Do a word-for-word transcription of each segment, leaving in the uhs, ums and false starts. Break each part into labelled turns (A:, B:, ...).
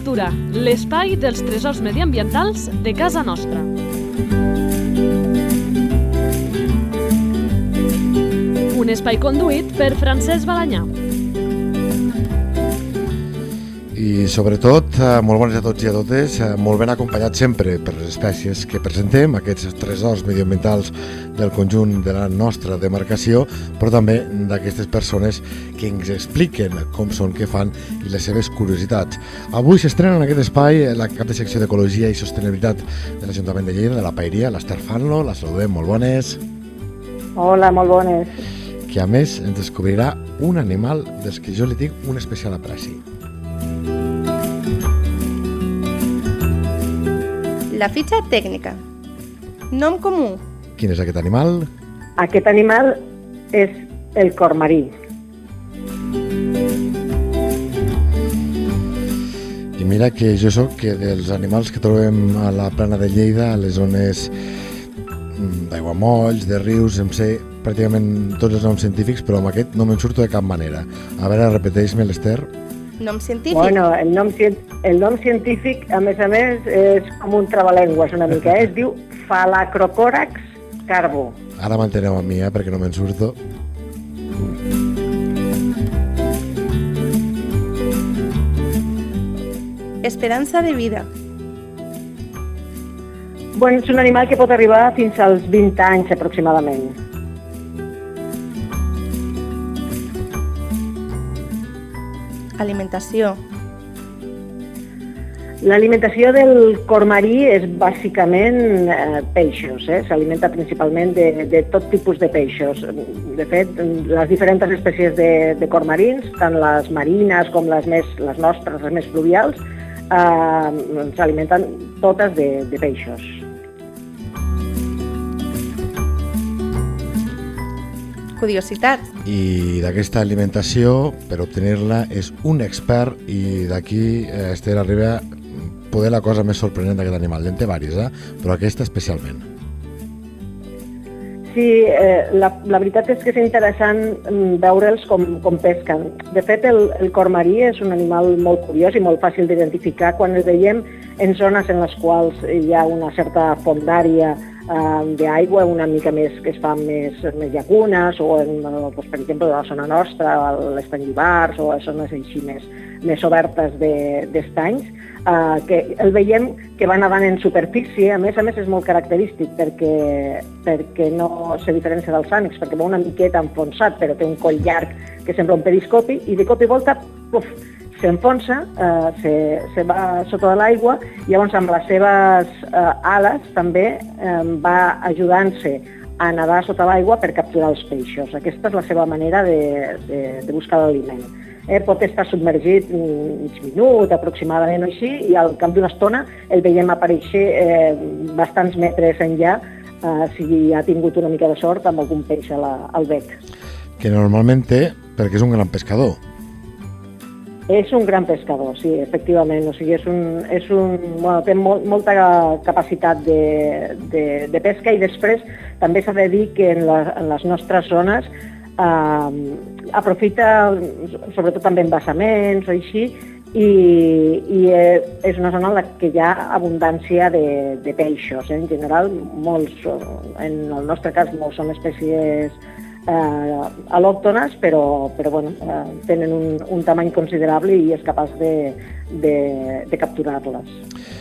A: Natura, l'espai dels tresors mediambientals de casa nostra. Un espai conduït per Francesc Balanyà.
B: I sobretot, molt bones a tots i a totes, molt ben acompanyats sempre per les espècies que presentem, aquests tresors mediambientals del conjunt de la nostra demarcació, però també d'aquestes persones que ens expliquen com són, què fan i les seves curiositats. Avui s'estrena en aquest espai la cap de secció d'Ecologia i Sostenibilitat de l'Ajuntament de Lleida, de la Paeria, l'Ester Fanlo. La saludem, molt bones.
C: Hola, molt bones.
B: Que a més ens descobrirà un animal dels que jo li tinc un especial apreci.
D: La fitxa tècnica. Nom comú.
B: Quin és aquest animal?
C: Aquest animal és el cormarí.
B: I mira que jo soc que dels animals que trobem a la plana de Lleida, a les zones d'aiguamolls, de rius, em sé pràcticament tots els noms científics, però amb aquest no me'n surto de cap manera. A veure, repeteix-me, l'Ester.
D: Nom científic?
C: Bueno, el nom, el nom científic, a més a més, és com un trabalengües una mica, eh? Es diu Phalacrocorax carbo.
B: Ara m'enteneu a mi, eh? Perquè no me'n surto.
D: Esperança de vida.
C: Bueno, és un animal que pot arribar fins als vint anys aproximadament.
D: Alimentació.
C: L'alimentació del cormarí és bàsicament eh, peixos, eh? S'alimenta principalment de, de tot tipus de peixos. De fet, les diferents espècies de, de cormarins, tant les marines com les, més, les nostres, les més fluvials, eh, s'alimenten totes de, de peixos.
D: Curiositat.
B: I d'aquesta alimentació, per obtenir-la, és un expert i d'aquí eh, Esther arriba a poder la cosa més sorprenent d'aquest animal. En té diverses, eh? Però aquesta especialment.
C: Sí, eh, la, la veritat és que és interessant veure'ls com, com pesquen. De fet, el, el cormarí és un animal molt curiós i molt fàcil d'identificar quan el veiem en zones en les quals hi ha una certa fondària d'aigua, una mica més que es fan més, més llacunes, o en, doncs, per exemple, a la zona nostra, a l'estany d'Ivars, o a zones així més, més obertes d'estanys, eh, que el veiem que va nedant en superfície. A més a més és molt característic perquè, perquè no se diferencia dels ànecs, perquè va una miqueta enfonsat, però té un coll llarg que sembla un periscopi, i de cop i volta, puf, s'enfonsa, eh, se, se va sota de l'aigua, i llavors amb les seves eh, ales també eh, va ajudant-se a nedar sota l'aigua per capturar els peixos. Aquesta és la seva manera de, de, de buscar l'aliment. Eh, pot estar submergit mig minut aproximadament o així, i al cap d'una estona el veiem aparèixer eh, bastants metres enllà, eh, si ha tingut una mica de sort amb algun peix a la, al bec.
B: Que normalment té, perquè és un gran pescador.
C: És un gran pescador, sí, efectivament. O sigui, és un, és un, bueno, té molt, molta capacitat de, de, de pesca, i després també s'ha de dir que en, la, en les nostres zones eh, aprofita, sobretot també embassaments o així, i, i és una zona en la que hi ha abundància de, de peixos. En general, molts, en el nostre cas, molts són espècies Eh, al·lòctones, però, però bueno, eh, tenen un, un tamany considerable i és capaç de, de, de capturar-les.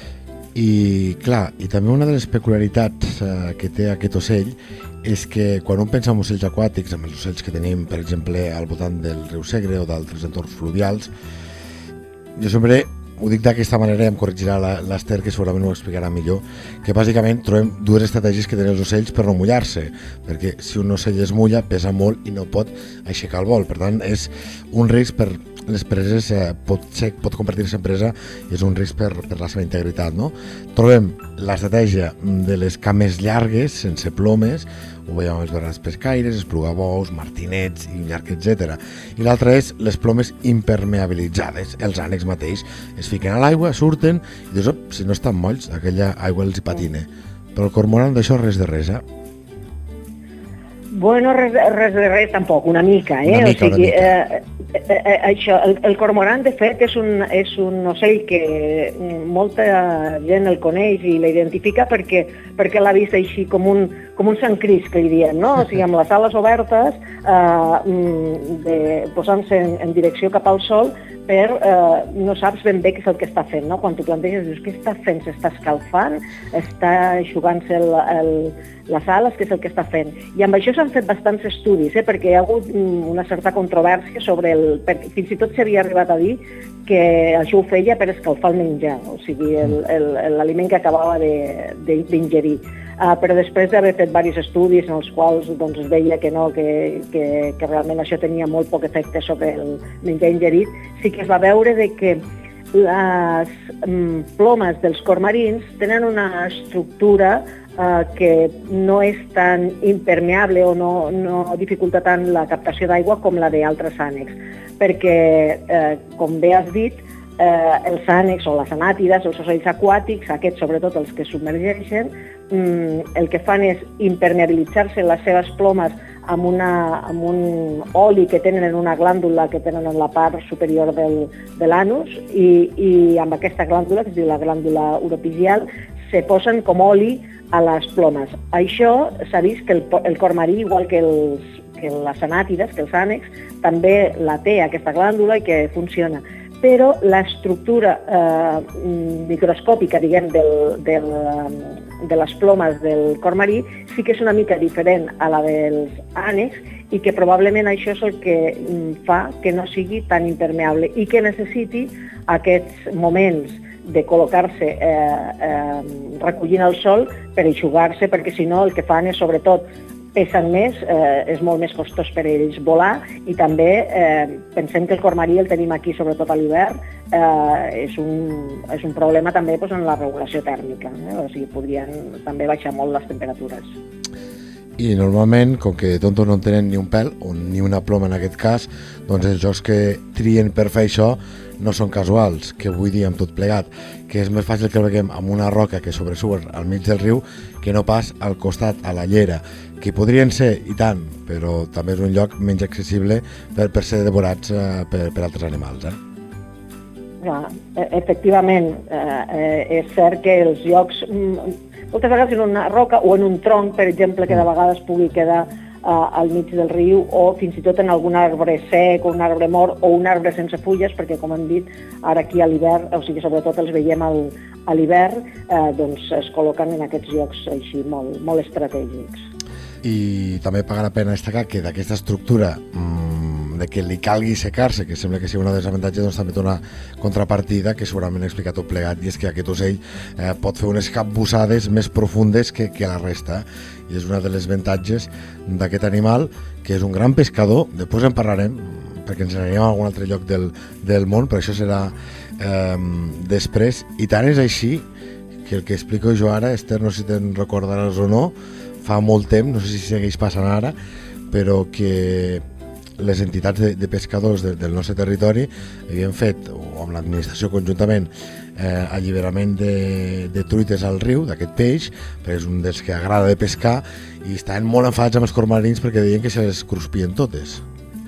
B: I clar, i també una de les peculiaritats eh, que té aquest ocell és que quan un pensa en ocells aquàtics, amb els ocells que tenim, per exemple, al voltant del riu Segre o d'altres entorns fluvials, jo sempre ho dic d'aquesta manera, i em corregirà l'Ester, que segurament ho explicarà millor, que bàsicament trobem dues estratègies que tenen els ocells per no mullar-se, perquè si un ocell es mulla pesa molt i no pot aixecar el vol. Per tant, és un risc per les preses, eh, pot, ser, pot convertir-se en presa, i és un risc per, per la seva integritat, no? Trobem l'estratègia de les cames llargues, sense plomes, ho veiem amb els bernats pescaires, esplugabous, martinets i un llarg, etcètera. I l'altra és les plomes impermeabilitzades. Els ànecs mateix es fiquen a l'aigua, surten, i dius, oh, si no estan molls, aquella aigua els hi patina. Però el cormoran d'això res de res, eh?
C: Bueno, res, res de res tampoc, una mica, eh?
B: Una mica,
C: o sigui,
B: una mica.
C: Eh, eh, això, el, el cormoran, de fet, és un, és un ocell que molta gent el coneix i l'identifica perquè, perquè l'ha vist així com un, com un Sant Crist, que li diem, no? O sigui, amb les ales obertes, eh, posant-se en, en direcció cap al sol, per eh, no saps ben bé què és el que està fent, no? Quan t'ho planteges, dius, què està fent? S'està escalfant? Està eixugant-se el, el, les ales? Què és el que està fent? I amb això s'han fet bastants estudis, eh? Perquè hi ha hagut una certa controvèrsia sobre el... Perquè fins i tot s'havia arribat a dir que això ho feia per escalfar el menjar, o sigui, l'aliment que acabava d'ingerir. Uh, però després d'haver fet diversos estudis en els quals doncs, es veia que no, que, que, que realment això tenia molt poc efecte sobre el menjar ingerit, sí que es va veure de que les mm, plomes dels cormarins tenen una estructura uh, que no és tan impermeable o no, no dificulta tant la captació d'aigua com la d'altres ànecs, perquè, eh, com bé has dit, Eh, els ànecs o les anàtides, els ocells aquàtics, aquests sobretot els que submergeixen, mm, el que fan és impermeabilitzar-se les seves plomes amb, una, amb un oli que tenen en una glàndula que tenen en la part superior del, de l'anus i, i amb aquesta glàndula, que es diu la glàndula uropigial, se posen com oli a les plomes. Això s'ha vist que el, el cormarí, igual que, els, que les anàtides, que els ànecs, també la té aquesta glàndula i que funciona. Però l'estructura eh, microscòpica, diguem, del, del, de les plomes del cormarí sí que és una mica diferent a la dels ànecs i que probablement això és el que fa que no sigui tan impermeable i que necessiti aquests moments de col·locar-se eh, eh, recollint el sol per eixugar-se, perquè si no el que fan és sobretot pesen més, eh, és molt més costós per ells volar i també eh, pensem que el cormarí el tenim aquí sobretot a l'hivern, eh, és, un, és un problema també doncs, en la regulació tèrmica, eh? O sigui, podrien també baixar molt les temperatures.
B: I normalment, com que tontos no en tenen ni un pèl, o ni una ploma en aquest cas, doncs els jocs que trien per fer això no són casuals, que vull dir amb tot plegat, que és més fàcil que el veiem amb una roca que sobresurt al mig del riu que no pas al costat, a la llera, que podrien ser, i tant, però també és un lloc menys accessible per, per ser devorats eh, per, per altres animals. Eh?
C: Ja, efectivament, eh, eh, és cert que els llocs, moltes vegades en una roca o en un tronc, per exemple, que de vegades pugui quedar uh, al mig del riu o fins i tot en algun arbre sec o un arbre mort o un arbre sense fulles, perquè com hem dit, ara aquí a l'hivern, o sigui, sobretot els veiem al, a l'hivern, eh, doncs es col·loquen en aquests llocs així molt, molt estratègics.
B: I també paga la pena destacar que d'aquesta estructura mmm, de que li calgui secar-se, que sembla que sigui una dels avantatges, doncs també té una contrapartida que segurament explica tot plegat, i és que aquest ocell eh, pot fer unes capbussades més profundes que, que la resta, i és una de les avantatges d'aquest animal, que és un gran pescador. Després en parlarem, perquè ens anirem a algun altre lloc del, del món, però això serà eh, després, i tant és així que el que explico jo ara, Esther, no sé si te'n recordaràs o no, fa molt temps, no sé si segueix passant ara, però que les entitats de, de pescadors de, del nostre territori havien fet, o amb l'administració conjuntament, eh, alliberament de, de truites al riu, d'aquest peix, perquè és un dels que agrada de pescar, i estaven molt enfadats amb els cormarins perquè deien que se les cruspien totes.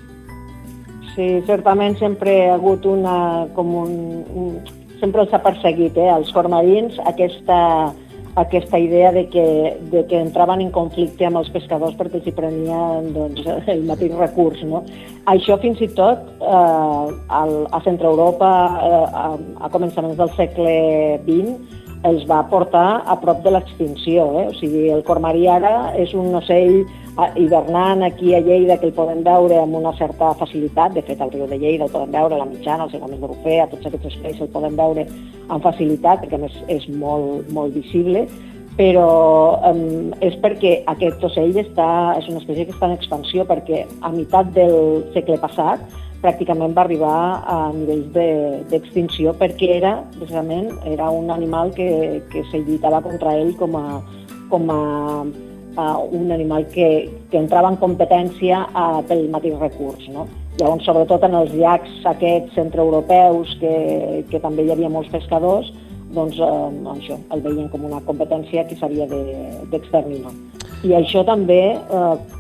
C: Sí, certament sempre ha hagut una, com un, un sempre els ha perseguit, eh, els cormarins, aquesta aquesta idea de que, de que entraven en conflicte amb els pescadors perquè els hi prenien doncs, el mateix recurs. No? Això fins i tot eh, al, a Centre Europa eh, a, a començaments del segle vint els va portar a prop de l'extinció. Eh? O sigui, el cormarí ara és un ocell hivernant aquí a Lleida que el podem veure amb una certa facilitat. De fet, al riu de Lleida el podem veure, a la Mitjana, als Segons de Rufea, a tots aquests espais el podem veure amb facilitat, perquè a més és molt, molt visible, però um, és perquè aquest ocell està, és una espècie que està en expansió, perquè a meitat del segle passat pràcticament va arribar a nivells d'extinció, de, perquè era, precisament, era un animal que, que se lluitava contra ell com a, com a Uh, un animal que, que entrava en competència uh, pel mateix recurs. No? Llavors, sobretot en els llacs aquests centreeuropeus, que, que també hi havia molts pescadors, doncs uh, això, el veien com una competència que s'havia d'exterminar. De, I això també uh,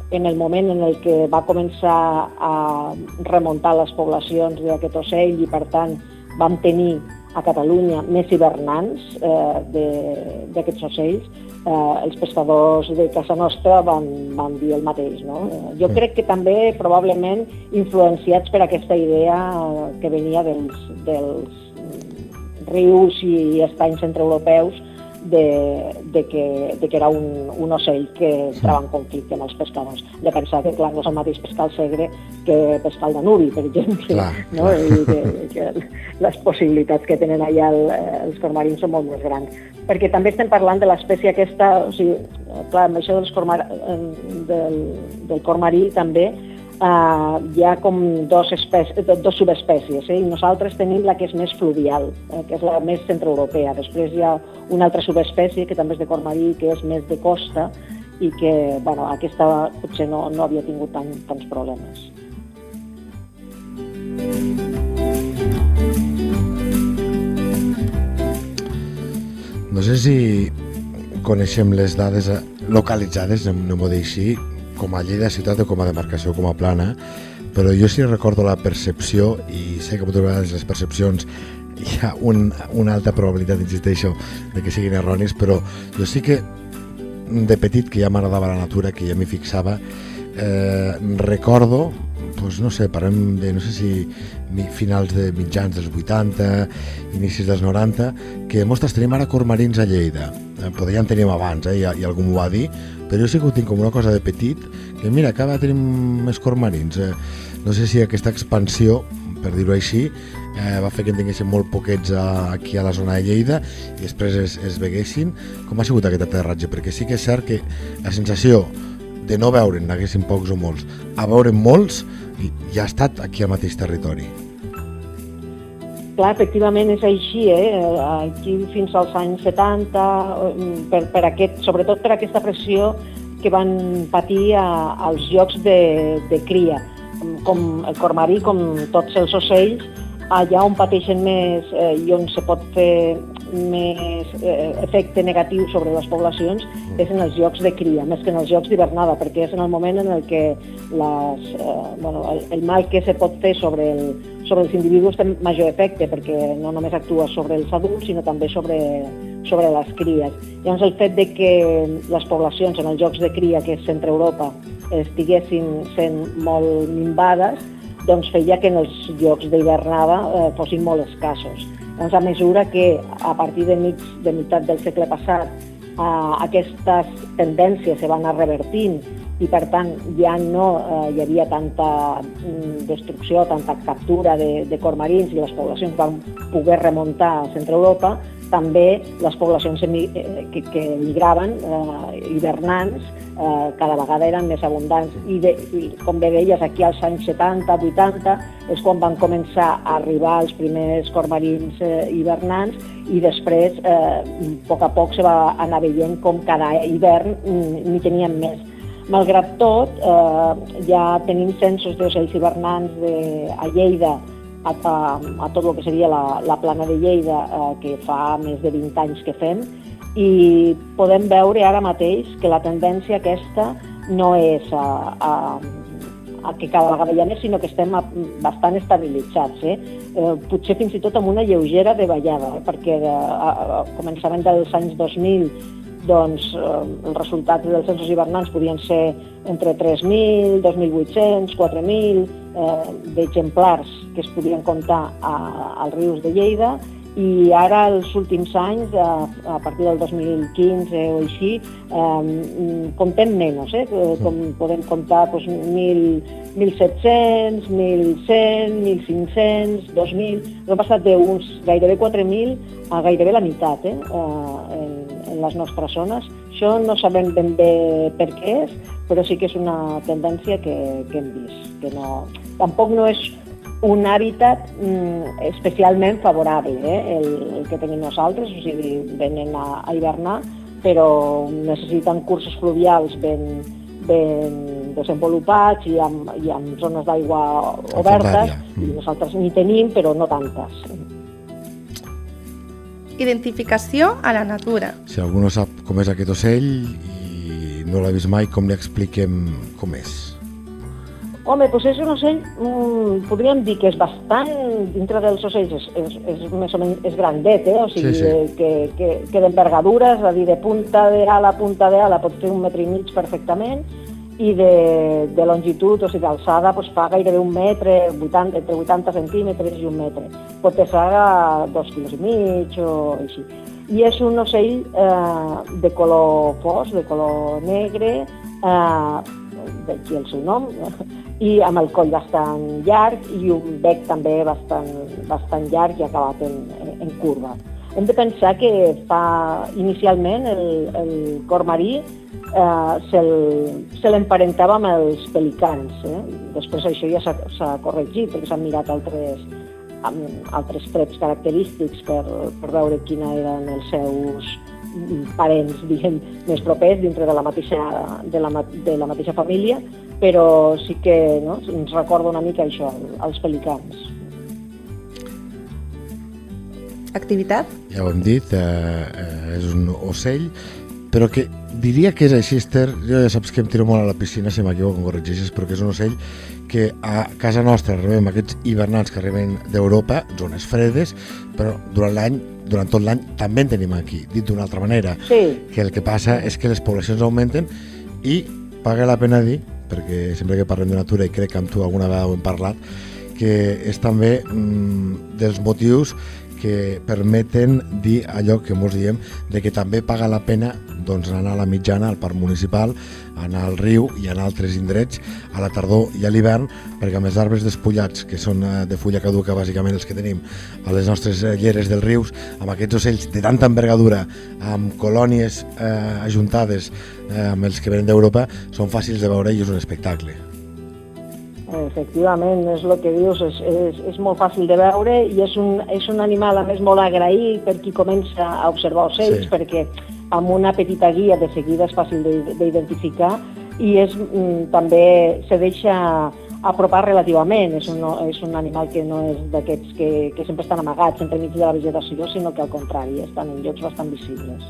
C: en el moment en el que va començar a remuntar les poblacions d'aquest ocell i, per tant, vam tenir a Catalunya més hivernants eh, d'aquests ocells, eh, els pescadors de casa nostra van, van dir el mateix. No? Jo crec que també, probablement, influenciats per aquesta idea que venia dels, dels rius i estanys centreeuropeus de, de, que, de que era un, un ocell que entrava en conflicte amb els pescadors. De pensar que, clar, no és el mateix pescar el Segre que pescar el Danubi, per exemple. Clar, no? Clar. I que, que les possibilitats que tenen allà el, els cormarins són molt més grans. Perquè també estem parlant de l'espècie aquesta, o sigui, clar, amb això dels cormar, del, del cormarí també, Uh, hi ha com dos, espècies, dos subespècies, eh? I nosaltres tenim la que és més fluvial, eh? que és la més centreeuropea. Després hi ha una altra subespècie que també és de cormarí, que és més de costa i que, bueno, aquesta potser no, no havia tingut tant, tants problemes.
B: No sé si coneixem les dades localitzades, anem-ho dir així, com a Lleida ciutat o com a demarcació, com a plana, però jo sí recordo la percepció, i sé que moltes vegades les percepcions hi ha un, una alta probabilitat, insisteixo, de que siguin erronis, però jo sí que de petit, que ja m'agradava la natura, que ja m'hi fixava, eh, recordo, doncs no sé, parlem de, no sé si finals de mitjans dels vuitanta, inicis dels noranta, que mostres, tenim ara cormarins a Lleida. Eh, potser ja en teníem abans, eh, i, i algú m'ho va dir, però jo sí que ho tinc com una cosa de petit, que mira, cada vegada tenim més cormarins. Eh, no sé si aquesta expansió, per dir-ho així, eh, va fer que en tinguéssim molt poquets a, aquí a la zona de Lleida i després es, es veguessin. Com ha sigut aquest aterratge? Perquè sí que és cert que la sensació de no veure'n, n'haguessin pocs o molts, a veure'n molts, ja ha estat aquí al mateix territori.
C: Clar, efectivament és així, eh? Aquí fins als anys setanta, per, per aquest, sobretot per aquesta pressió que van patir a, als llocs de, de cria, com el cormarí, com tots els ocells, allà on pateixen més eh, i on se pot fer més eh, efecte negatiu sobre les poblacions és en els llocs de cria, més que en els llocs d'hivernada, perquè és en el moment en el que les, eh, bueno, el, el mal que se pot fer sobre, el, sobre els individus té major efecte, perquè no només actua sobre els adults, sinó també sobre, sobre les cries. Llavors el fet de que les poblacions en els llocs de cria, que és Centreeuropa, estiguessin sent molt minvades, doncs feia que en els llocs d'hivernada eh, fossin molt escassos. Doncs a mesura que a partir de, mig, de meitat del segle passat eh, aquestes tendències se van anar revertint i per tant ja no eh, hi havia tanta mm, destrucció, tanta captura de, de cormarins i les poblacions van poder remuntar a Centreeuropa, també les poblacions que, que migraven, eh, hivernants, eh, cada vegada eren més abundants. I, de, i com bé deies, aquí als anys setanta, vuitanta, és quan van començar a arribar els primers cormarins eh, hivernants i després, eh, a poc a poc, se va anar veient com cada hivern n'hi teníem més. Malgrat tot, eh, ja tenim censos d'ocells hivernants de, a Lleida, A, a, a tot el que seria la, la plana de Lleida, eh, que fa més de vint anys que fem, i podem veure ara mateix que la tendència aquesta no és a, a, a que cada vegada hi ha més, sinó que estem a, bastant estabilitzats. Eh? Eh, potser fins i tot amb una lleugera davallada, eh? perquè de, a, a començament dels anys dos mil doncs eh, els resultats dels censos hivernants podien ser entre tres mil, dos mil vuit-cents, quatre mil eh, d'exemplars que es podien comptar a, als rius de Lleida, i ara els últims anys, a, a partir del dos mil quinze o així, eh, comptem menys, eh? Com podem comptar doncs, mil set-cents, mil cent, mil cinc-cents, dos mil... Hem passat d'uns gairebé quatre mil a gairebé la meitat eh? en, en les nostres zones. Això no sabem ben bé per què és, però sí que és una tendència que, que hem vist. Que no, tampoc no és un hàbitat mm, especialment favorable, eh, el, el que tenim nosaltres, o sigui, venen a, a hivernar, però necessiten cursos fluvials ben, ben desenvolupats i amb, i amb zones d'aigua obertes, i nosaltres n'hi tenim, però no tantes.
D: Identificació a la natura.
B: Si algú no sap com és aquest ocell i no l'ha vist mai, com li expliquem com és?
C: Home, doncs és un ocell, mm, podríem dir que és bastant, dintre dels ocells, és, és, és més o menys és grandet, eh? O sigui,
B: Sí, sí.
C: que, que, que d'envergadura, és a dir, de punta d'ala a punta d'ala pot fer un metre i mig perfectament, i de, de longitud, o sigui, d'alçada, doncs fa gairebé un metre, vuitanta, entre vuitanta centímetres i un metre. Pot pesar dos quilos i mig o així. I és un ocell eh, de color fos, de color negre, eh, d'aquí el seu nom, i amb el coll bastant llarg i un bec també bastant, bastant llarg i acabat en, en curva. Hem de pensar que fa inicialment el, el cor marí eh, se l'emparentava amb els pelicans. Eh? Després això ja s'ha corregit perquè s'han mirat altres, amb altres trets característics per, per veure quina eren els seus parents, diguem, més propers dintre de la mateixa, de la, de la mateixa família, però sí que no, ens recorda una mica això, els pelicans.
D: Activitat?
B: Ja ho hem dit, eh, eh, és un ocell, però que diria que és així, Esther, jo ja saps que em tiro molt a la piscina, si m'equivoco em corregeixes, però que és un ocell que a casa nostra rebem aquests hivernants que arriben d'Europa, zones fredes, però durant l'any, durant tot l'any també en tenim aquí, dit d'una altra manera,
C: Sí.
B: que el que passa és que les poblacions augmenten i paga la pena dir, perquè sempre que parlem de natura, i crec que amb tu alguna vegada ho hem parlat, que és també mm, dels motius que permeten dir allò que mos diem, de que també paga la pena doncs, anar a la mitjana, al parc municipal, anar al riu i anar a altres indrets a la tardor i a l'hivern, perquè amb els arbres despullats, que són de fulla caduca bàsicament els que tenim a les nostres lleres dels rius, amb aquests ocells de tanta envergadura, amb colònies eh, ajuntades eh, amb els que venen d'Europa, són fàcils de veure i és un espectacle.
C: Efectivament, és el que dius, és, és, és molt fàcil de veure i és un, és un animal a més molt agraït per qui comença a observar ocells,
B: Sí.
C: perquè amb una petita guia de seguida és fàcil d'identificar i és, mm, també se deixa apropar relativament, és un, és un animal que no és d'aquests que, que sempre estan amagats entremig de la vegetació, sinó que al contrari, estan en llocs bastant visibles.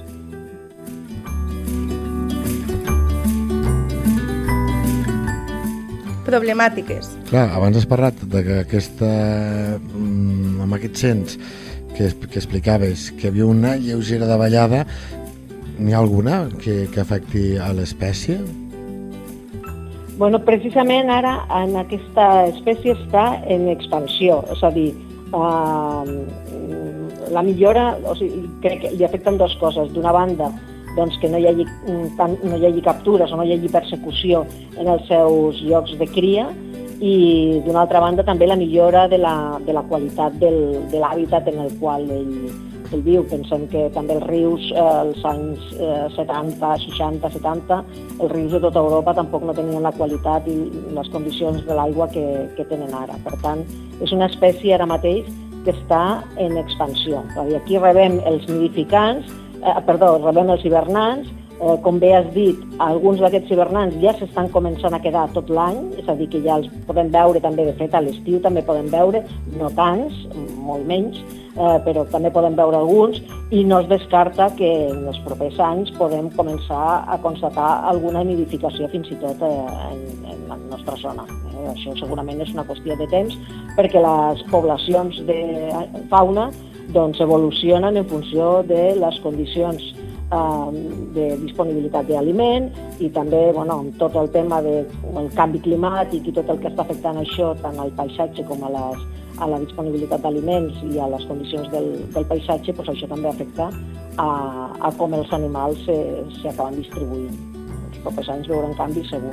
D: Problemàtiques.
B: Clar, abans has parlat de que aquesta, mm, amb aquest cens que, que explicaves que hi havia una lleugera davallada, n'hi ha alguna que, que afecti a l'espècie?
C: Bueno, precisament ara en aquesta espècie està en expansió, és a dir, eh, la millora, o sigui, crec que li afecten dues coses. D'una banda, doncs, que no hi, hagi, tant, no hi hagi captures o no hi hagi persecució en els seus llocs de cria i d'una altra banda també la millora de la, de la qualitat del, de l'hàbitat en el qual ell, ell viu. Pensem que també els rius, eh, als anys eh, setanta, seixanta, setanta, els rius de tota Europa tampoc no tenien la qualitat i les condicions de l'aigua que, que tenen ara. Per tant, és una espècie ara mateix que està en expansió. Aquí rebem els nidificants, eh, perdó, rebem els hivernants. Eh, com bé has dit, alguns d'aquests hivernants ja s'estan començant a quedar tot l'any, és a dir, que ja els podem veure també, de fet, a l'estiu també podem veure, no tants, molt menys, eh, però també podem veure alguns, i no es descarta que en els propers anys podem començar a constatar alguna nidificació fins i tot eh, en, en la nostra zona. Eh, això segurament és una qüestió de temps, perquè les poblacions de fauna doncs, evolucionen en funció de les condicions de disponibilitat d'aliment i també, bueno, amb tot el tema del canvi climàtic i tot el que està afectant això tant al paisatge com a, les, a la disponibilitat d'aliments i a les condicions del, del paisatge, doncs això també afecta a, a com els animals s'acaben distribuint. Els propers anys veurem canvi segur.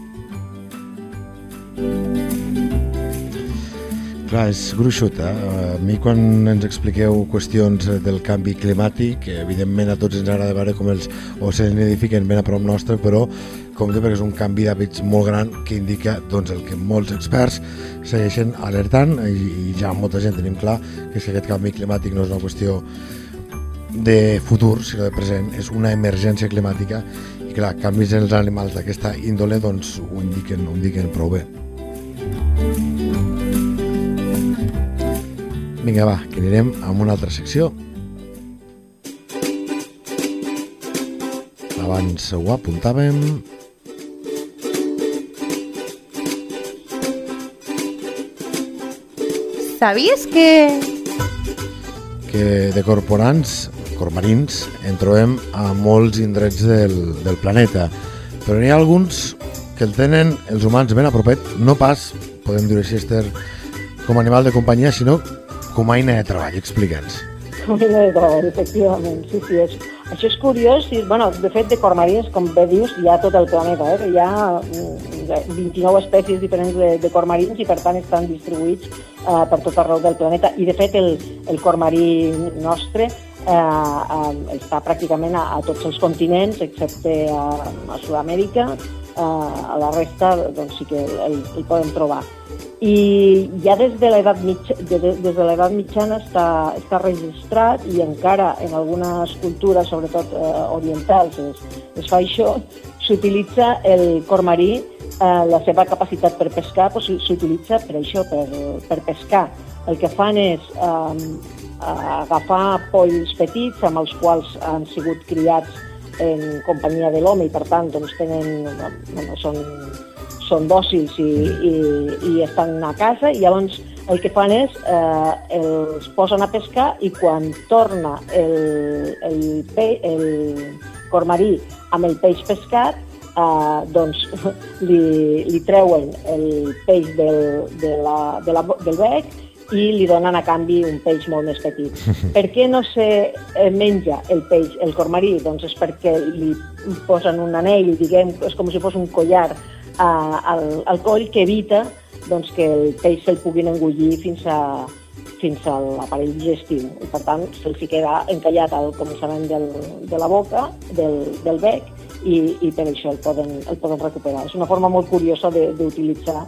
B: Clar, és gruixut, eh? A mi quan ens expliqueu qüestions del canvi climàtic, evidentment a tots ens agrada veure com els ocells nidifiquen ben a prop nostre, però compte perquè és un canvi d'hàbits molt gran que indica doncs, el que molts experts segueixen alertant i, i ja molta gent tenim clar que és que aquest canvi climàtic no és una qüestió de futur, sinó de present, és una emergència climàtica i clar, canvis en els animals d'aquesta índole doncs ho indiquen, ho indiquen prou bé. Vinga, va, que anirem a una altra secció. La abans ho apuntàvem.
D: Sabies que...
B: que de corporants, cormarins, en trobem a molts indrets del, del planeta, però n'hi ha alguns que el tenen els humans ben a propet, no pas, podem dir així, Esther, com a animal de companyia, sinó com a eina de treball. Explica'ns.
C: Com a eina de treball, efectivament, sí, sí. És, això és curiós, i, bueno, de fet, de cormarins, com bé dius, hi ha tot el planeta, eh? Hi ha vint-i-nou espècies diferents de, de cormarins i, per tant, estan distribuïts eh, per tot arreu del planeta. I, de fet, el, el cormarí nostre eh, eh, està pràcticament a, a tots els continents, excepte a, a Sud-amèrica. Eh, a la resta, doncs, sí que el, el podem trobar. I ja des de l'edat mitja, de, de, des de l'edat mitjana està, està registrat, i encara en algunes cultures, sobretot eh, orientals, es, es fa això, s'utilitza el cormarí, eh, la seva capacitat per pescar, doncs, s'utilitza per això, per, per pescar. El que fan és eh, agafar polls petits amb els quals han sigut criats en companyia de l'home i, per tant, doncs, tenen, bueno, són, són dòcils i, i, i estan a casa, i llavors el que fan és eh, els posen a pescar, i quan torna el, el, pe, el cormarí amb el peix pescat, eh, doncs li, li treuen el peix del, de la, de la, del bec i li donen a canvi un peix molt més petit. Per què no se menja el peix, el cormarí? Doncs és perquè li posen un anell, diguem, és com si fos un collar uh, al, al coll, que evita, doncs, que el peix se'l puguin engullir fins a, fins a l'aparell digestiu. I, per tant, se'l queda encallat al començament del, de la boca, del, del bec, i, i per això el poden, el poden recuperar. És una forma molt curiosa d'utilitzar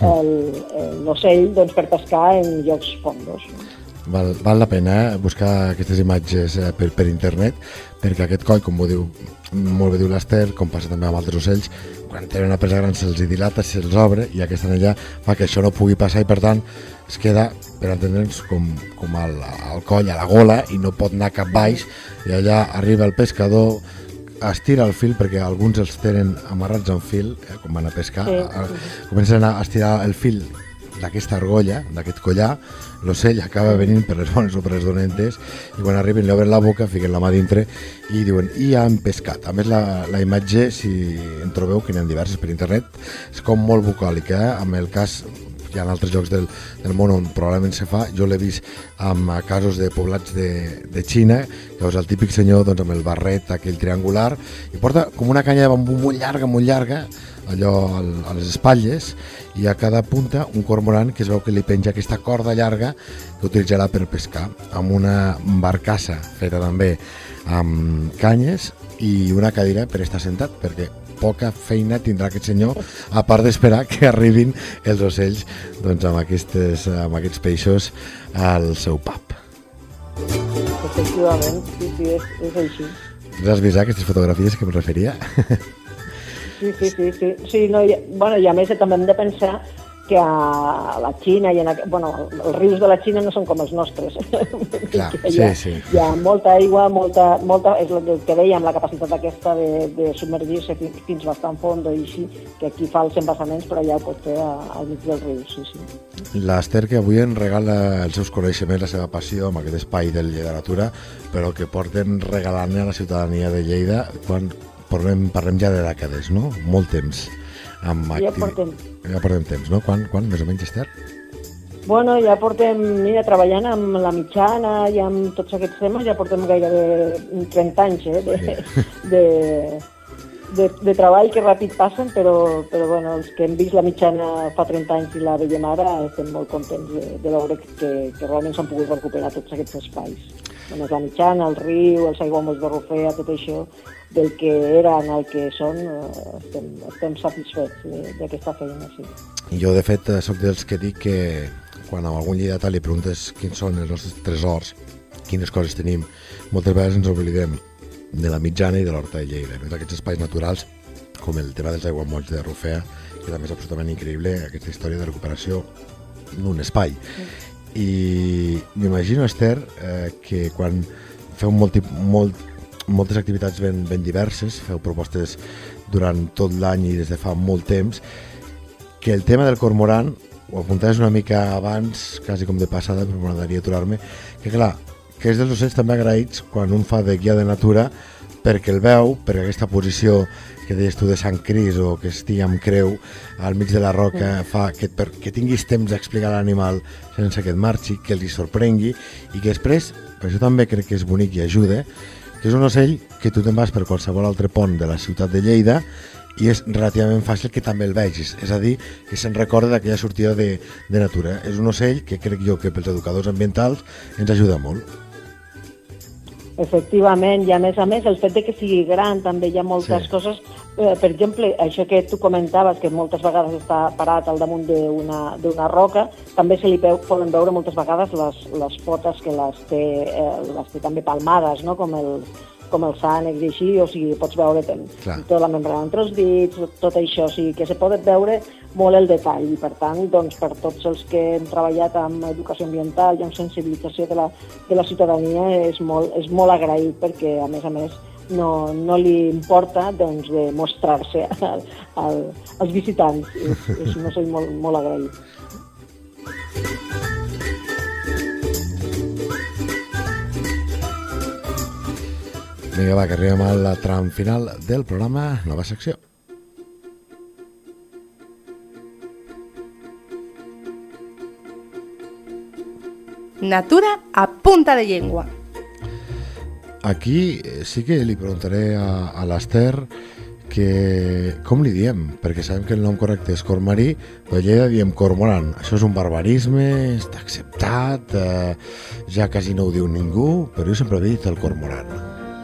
C: l'ocell, doncs, per pescar en llocs fondos.
B: Val, val la pena eh, buscar aquestes imatges eh, per, per internet, perquè aquest coll, com ho diu, molt bé diu l'Ester, com passa també amb altres ocells, quan tenen una presa gran se'ls dilata, se'ls obre, i aquesta anella fa que això no pugui passar, i per tant es queda, per entendre'ns, com, com al, al coll, a la gola, i no pot anar cap baix, i allà arriba el pescador, estira el fil, perquè alguns els tenen amarrats en fil, eh, quan van a pescar, sí, sí. Comencen a estirar el fil d'aquesta argolla, d'aquest collar, l'ocell acaba venint per les bones o per les dolentes, i quan arriben li obren la boca, fiquen la mà dintre i diuen, i ja han pescat. A més, la, la imatge, si en trobeu, que n'hi ha diverses per internet, és com molt bucòlica, eh? Amb el cas, hi ha altres llocs del, del món on probablement se fa, jo l'he vist amb casos de poblats de, de Xina, que és el típic senyor, doncs, amb el barret aquell triangular, i porta com una canya de bambú molt llarga, molt llarga, allò a les espatlles, i a cada punta un cormorant que es veu que li penja aquesta corda llarga que utilitzarà per pescar, amb una barcassa feta també amb canyes i una cadira per estar sentat, perquè poca feina tindrà aquest senyor, a part d'esperar que arribin els ocells, doncs, amb, aquestes, amb aquests peixos al seu pub.
C: Efectivament, sí, sí, és, és així.
B: Has vist aquestes fotografies que em referia?
C: Sí, sí, sí, sí. sí no, i, bueno, i a més també hem de pensar que a la Xina, i en, bueno, els rius de la Xina no són com els nostres.
B: Clar,
C: hi ha,
B: sí, sí.
C: Hi ha molta aigua, molta, molta, és el que dèiem, la capacitat aquesta de, de submergir-se fins, fins bastant fondo, i així, que aquí fa els embassaments, però ja ho pot fer al mig del riu, sí, sí.
B: L'Ester, que avui ens regala els seus coneixements, la seva passió amb aquest espai de literatura, però que porten regalant a la ciutadania de Lleida quan parlem, parlem ja de dècades, no? Molt temps. Amb
C: ja
B: activ...
C: portem.
B: Ja portem temps, no? Quan, quan més o menys, Esther?
C: Bueno, ja portem, mira, treballant amb la mitjana i amb tots aquests temes, ja portem gairebé trenta anys, eh, de, sí. de, de, de treball que ràpid passen, però, però bueno, els que hem vist la mitjana fa trenta anys i la veiem ara, estem molt contents de, de veure que, que realment s'han pogut recuperar tots aquests espais. Bueno, la mitjana, el riu, els aiguamolls de Rufea, tot això, del que eren, el que són, estem, estem satisfets d'aquesta feina, sí.
B: Jo, de fet, sóc dels que dic que quan a algun lleidatà li preguntes quins són els nostres tresors, quines coses tenim, moltes vegades ens oblidem de la mitjana i de l'Horta de Lleida, no? D'aquests espais naturals, com el tema dels aiguamolls de Rufea, que també és absolutament increïble, aquesta història de recuperació d'un espai. Sí. I m'imagino, Esther, eh, que quan feu molt, molt moltes activitats ben, ben diverses, feu propostes durant tot l'any i des de fa molt temps, que el tema del cormoran, ho apuntaves una mica abans, quasi com de passada, però m'agradaria aturar-me, que clar, que és dels ocells també agraïts quan un fa de guia de natura, perquè el veu, perquè aquesta posició que deies tu de Sant Cris o que estigui amb creu al mig de la roca fa que, per, que tinguis temps d'explicar a l'animal sense que et marxi, que els sorprengui i que després, per això també crec que és bonic i ajuda, que és un ocell que tu te'n vas per qualsevol altre pont de la ciutat de Lleida i és relativament fàcil que també el vegis, és a dir, que se'n recorda d'aquella sortida de, de natura. És un ocell que crec jo que pels educadors ambientals ens ajuda molt.
C: Efectivament, i a més a més el fet de que sigui gran també hi ha moltes sí. coses, eh, per exemple, això que tu comentaves, que moltes vegades està parat al damunt d'una d'una roca, també se li peu, poden veure moltes vegades les, les potes que les té, eh, les té també palmades, no? com el com els ànecs i així, o sigui, pots veure tota la membrana entre els dits, tot això, o sigui, que se pot veure molt el detall, i per tant, doncs, per tots els que hem treballat amb educació ambiental i amb sensibilització de la, de la ciutadania és molt, és molt agraït, perquè, a més a més, no, no li importa doncs, de mostrar-se al, al, als visitants. És, és un ocell molt, molt agraït.
B: Vinga, va, que arribem al tram final del programa, nova secció.
D: Natura a punta de llengua.
B: Aquí sí que li preguntaré a, a l'Ester que com li diem, perquè sabem que el nom correcte és cormarí, però a Lleida diem cormoran. Això és un barbarisme, està acceptat, eh, ja quasi no ho diu ningú, però jo sempre he dit el cormoran.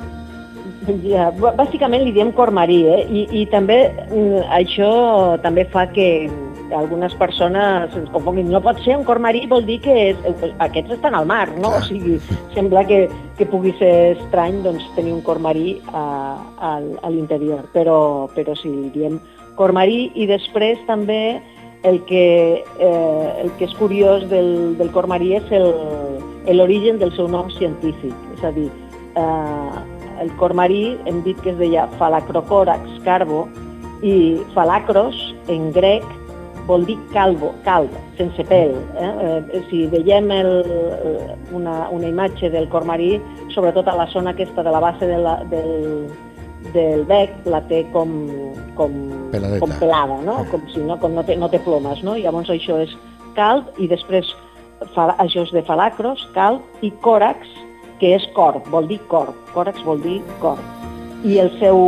C: Ja, bàsicament li diem cormarí, eh? I, i també això també fa que algunes persones es confonguin. No pot ser un cormarí, vol dir que és, aquests estan al mar, no? O sigui, sembla que, que pugui ser estrany doncs, tenir un cormarí a, a, a l'interior, però, però sí, li diem cormarí. I després també el que, eh, el que és curiós del, del cormarí és l'origen del seu nom científic, és a dir, eh, el cormarí hem dit que es deia Phalacrocorax carbo i Phalacros en grec vol dir calvo, calb, sense pèl. Eh? Eh, si veiem el, una, una imatge del cormarí, sobretot a la zona aquesta de la base de la, del, del bec, la té com, com, com pelada, no? Com si no, com no, té, no té plomes, no? Llavors això és calb i després això és de Phalacros, calb, i còrax, que és corb, vol dir corb, còrax vol dir corb. I el seu,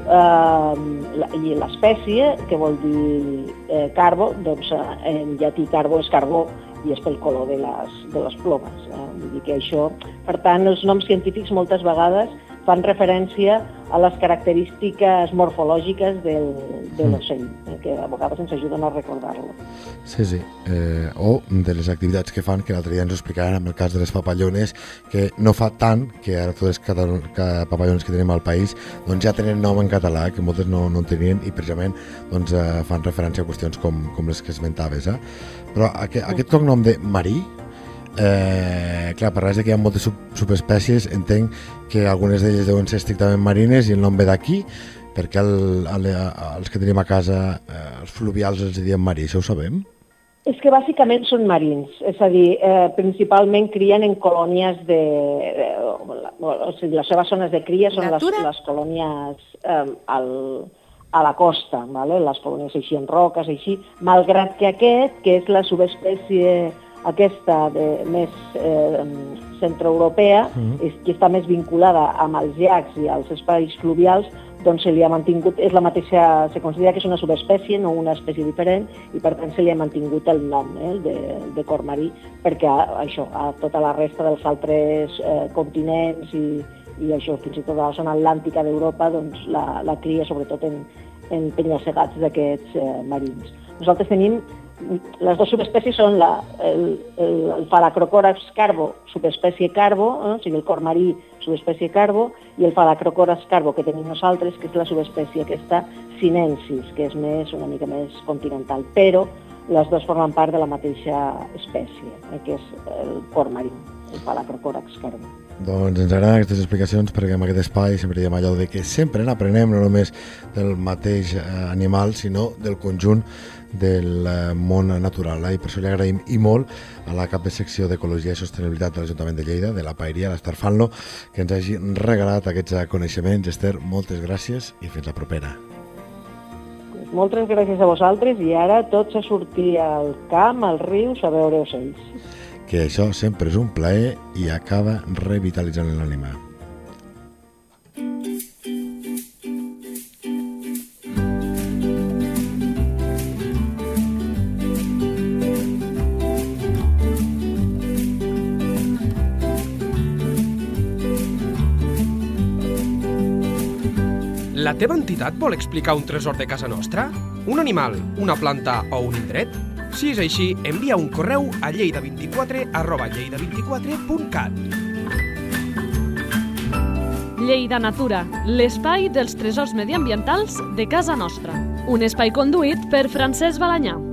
C: eh, i l'espècie, que vol dir eh, carbo, doncs en llatí carbo és carbó i és pel color de les, de les plomes. Eh? Vull dir que això, per tant, els noms científics moltes vegades fan referència a les característiques morfològiques del, de l'ocell, eh, que a vegades ens ajuden a recordar-lo.
B: Sí, sí. Eh, o de les activitats que fan, que l'altre dia ens ho explicaven amb el cas de les papallones, que no fa tant, que ara totes les papallones que tenim al país doncs ja tenen nom en català, que moltes no, no en tenien, i precisament doncs, eh, fan referència a qüestions com, com les que esmentaves. Eh? Però aquest, aquest cognom de marí, Eh, clar, parlaves que hi ha moltes sub subespècies, entenc que algunes d'elles deuen ser estrictament marines i el nom ve d'aquí, perquè el, el, els que tenim a casa, eh, els fluvials els diem marí, això ho sabem?
C: És que bàsicament són marins, és a dir, eh, principalment crien en colònies de... de o sigui, les seves zones de cria són les, les colònies eh, al, a la costa, ¿vale? Les colònies així en roques, així, malgrat que aquest, que és la subespècie aquesta de, més eh, centroeuropea, mm. és, que està més vinculada amb els llacs i als espais fluvials, doncs se li ha mantingut, és la mateixa, se considera que és una subespècie, no una espècie diferent, i per tant se li ha mantingut el nom eh, de, de cormarí, perquè això, a tota la resta dels altres eh, continents i, i això, fins i tot a la zona atlàntica d'Europa, doncs la, la cria sobretot en, en penya-segats d'aquests eh, marins. Nosaltres tenim les dues subespècies són la, el, el, el Phalacrocorax carbo, subespècie carbo, eh? O sigui, el cormarí, subespècie carbo, i el Phalacrocorax carbo que tenim nosaltres, que és la subespècie aquesta sinensis, que és més, una mica més continental, però les dues formen part de la mateixa espècie, eh? Que és el cormarí, el Phalacrocorax carbo.
B: Doncs ens agraden aquestes explicacions perquè en aquest espai sempre diem allò de que sempre n'aprenem no només del mateix animal sinó del conjunt del món natural. I per això li agraïm i molt a la cap de secció d'Ecologia i Sostenibilitat de l'Ajuntament de Lleida, de la Paeria, l'Ester Fanlo, que ens hagi regalat aquests coneixements. Ester, moltes gràcies i fins la propera.
C: Moltes gràcies a vosaltres i ara tots a sortir al camp, als rius, a veure ocells.
B: Que això sempre és un plaer i acaba revitalitzant l'ànima.
E: La teva entitat vol explicar un tresor de casa nostra? Un animal, una planta o un indret? Si és així, envia un correu a lleida vint-i-quatre arroba lleida vint-i-quatre punt cat.
A: Lleida Natura, l'espai dels tresors mediambientals de casa nostra. Un espai conduït per Francesc Balanyà.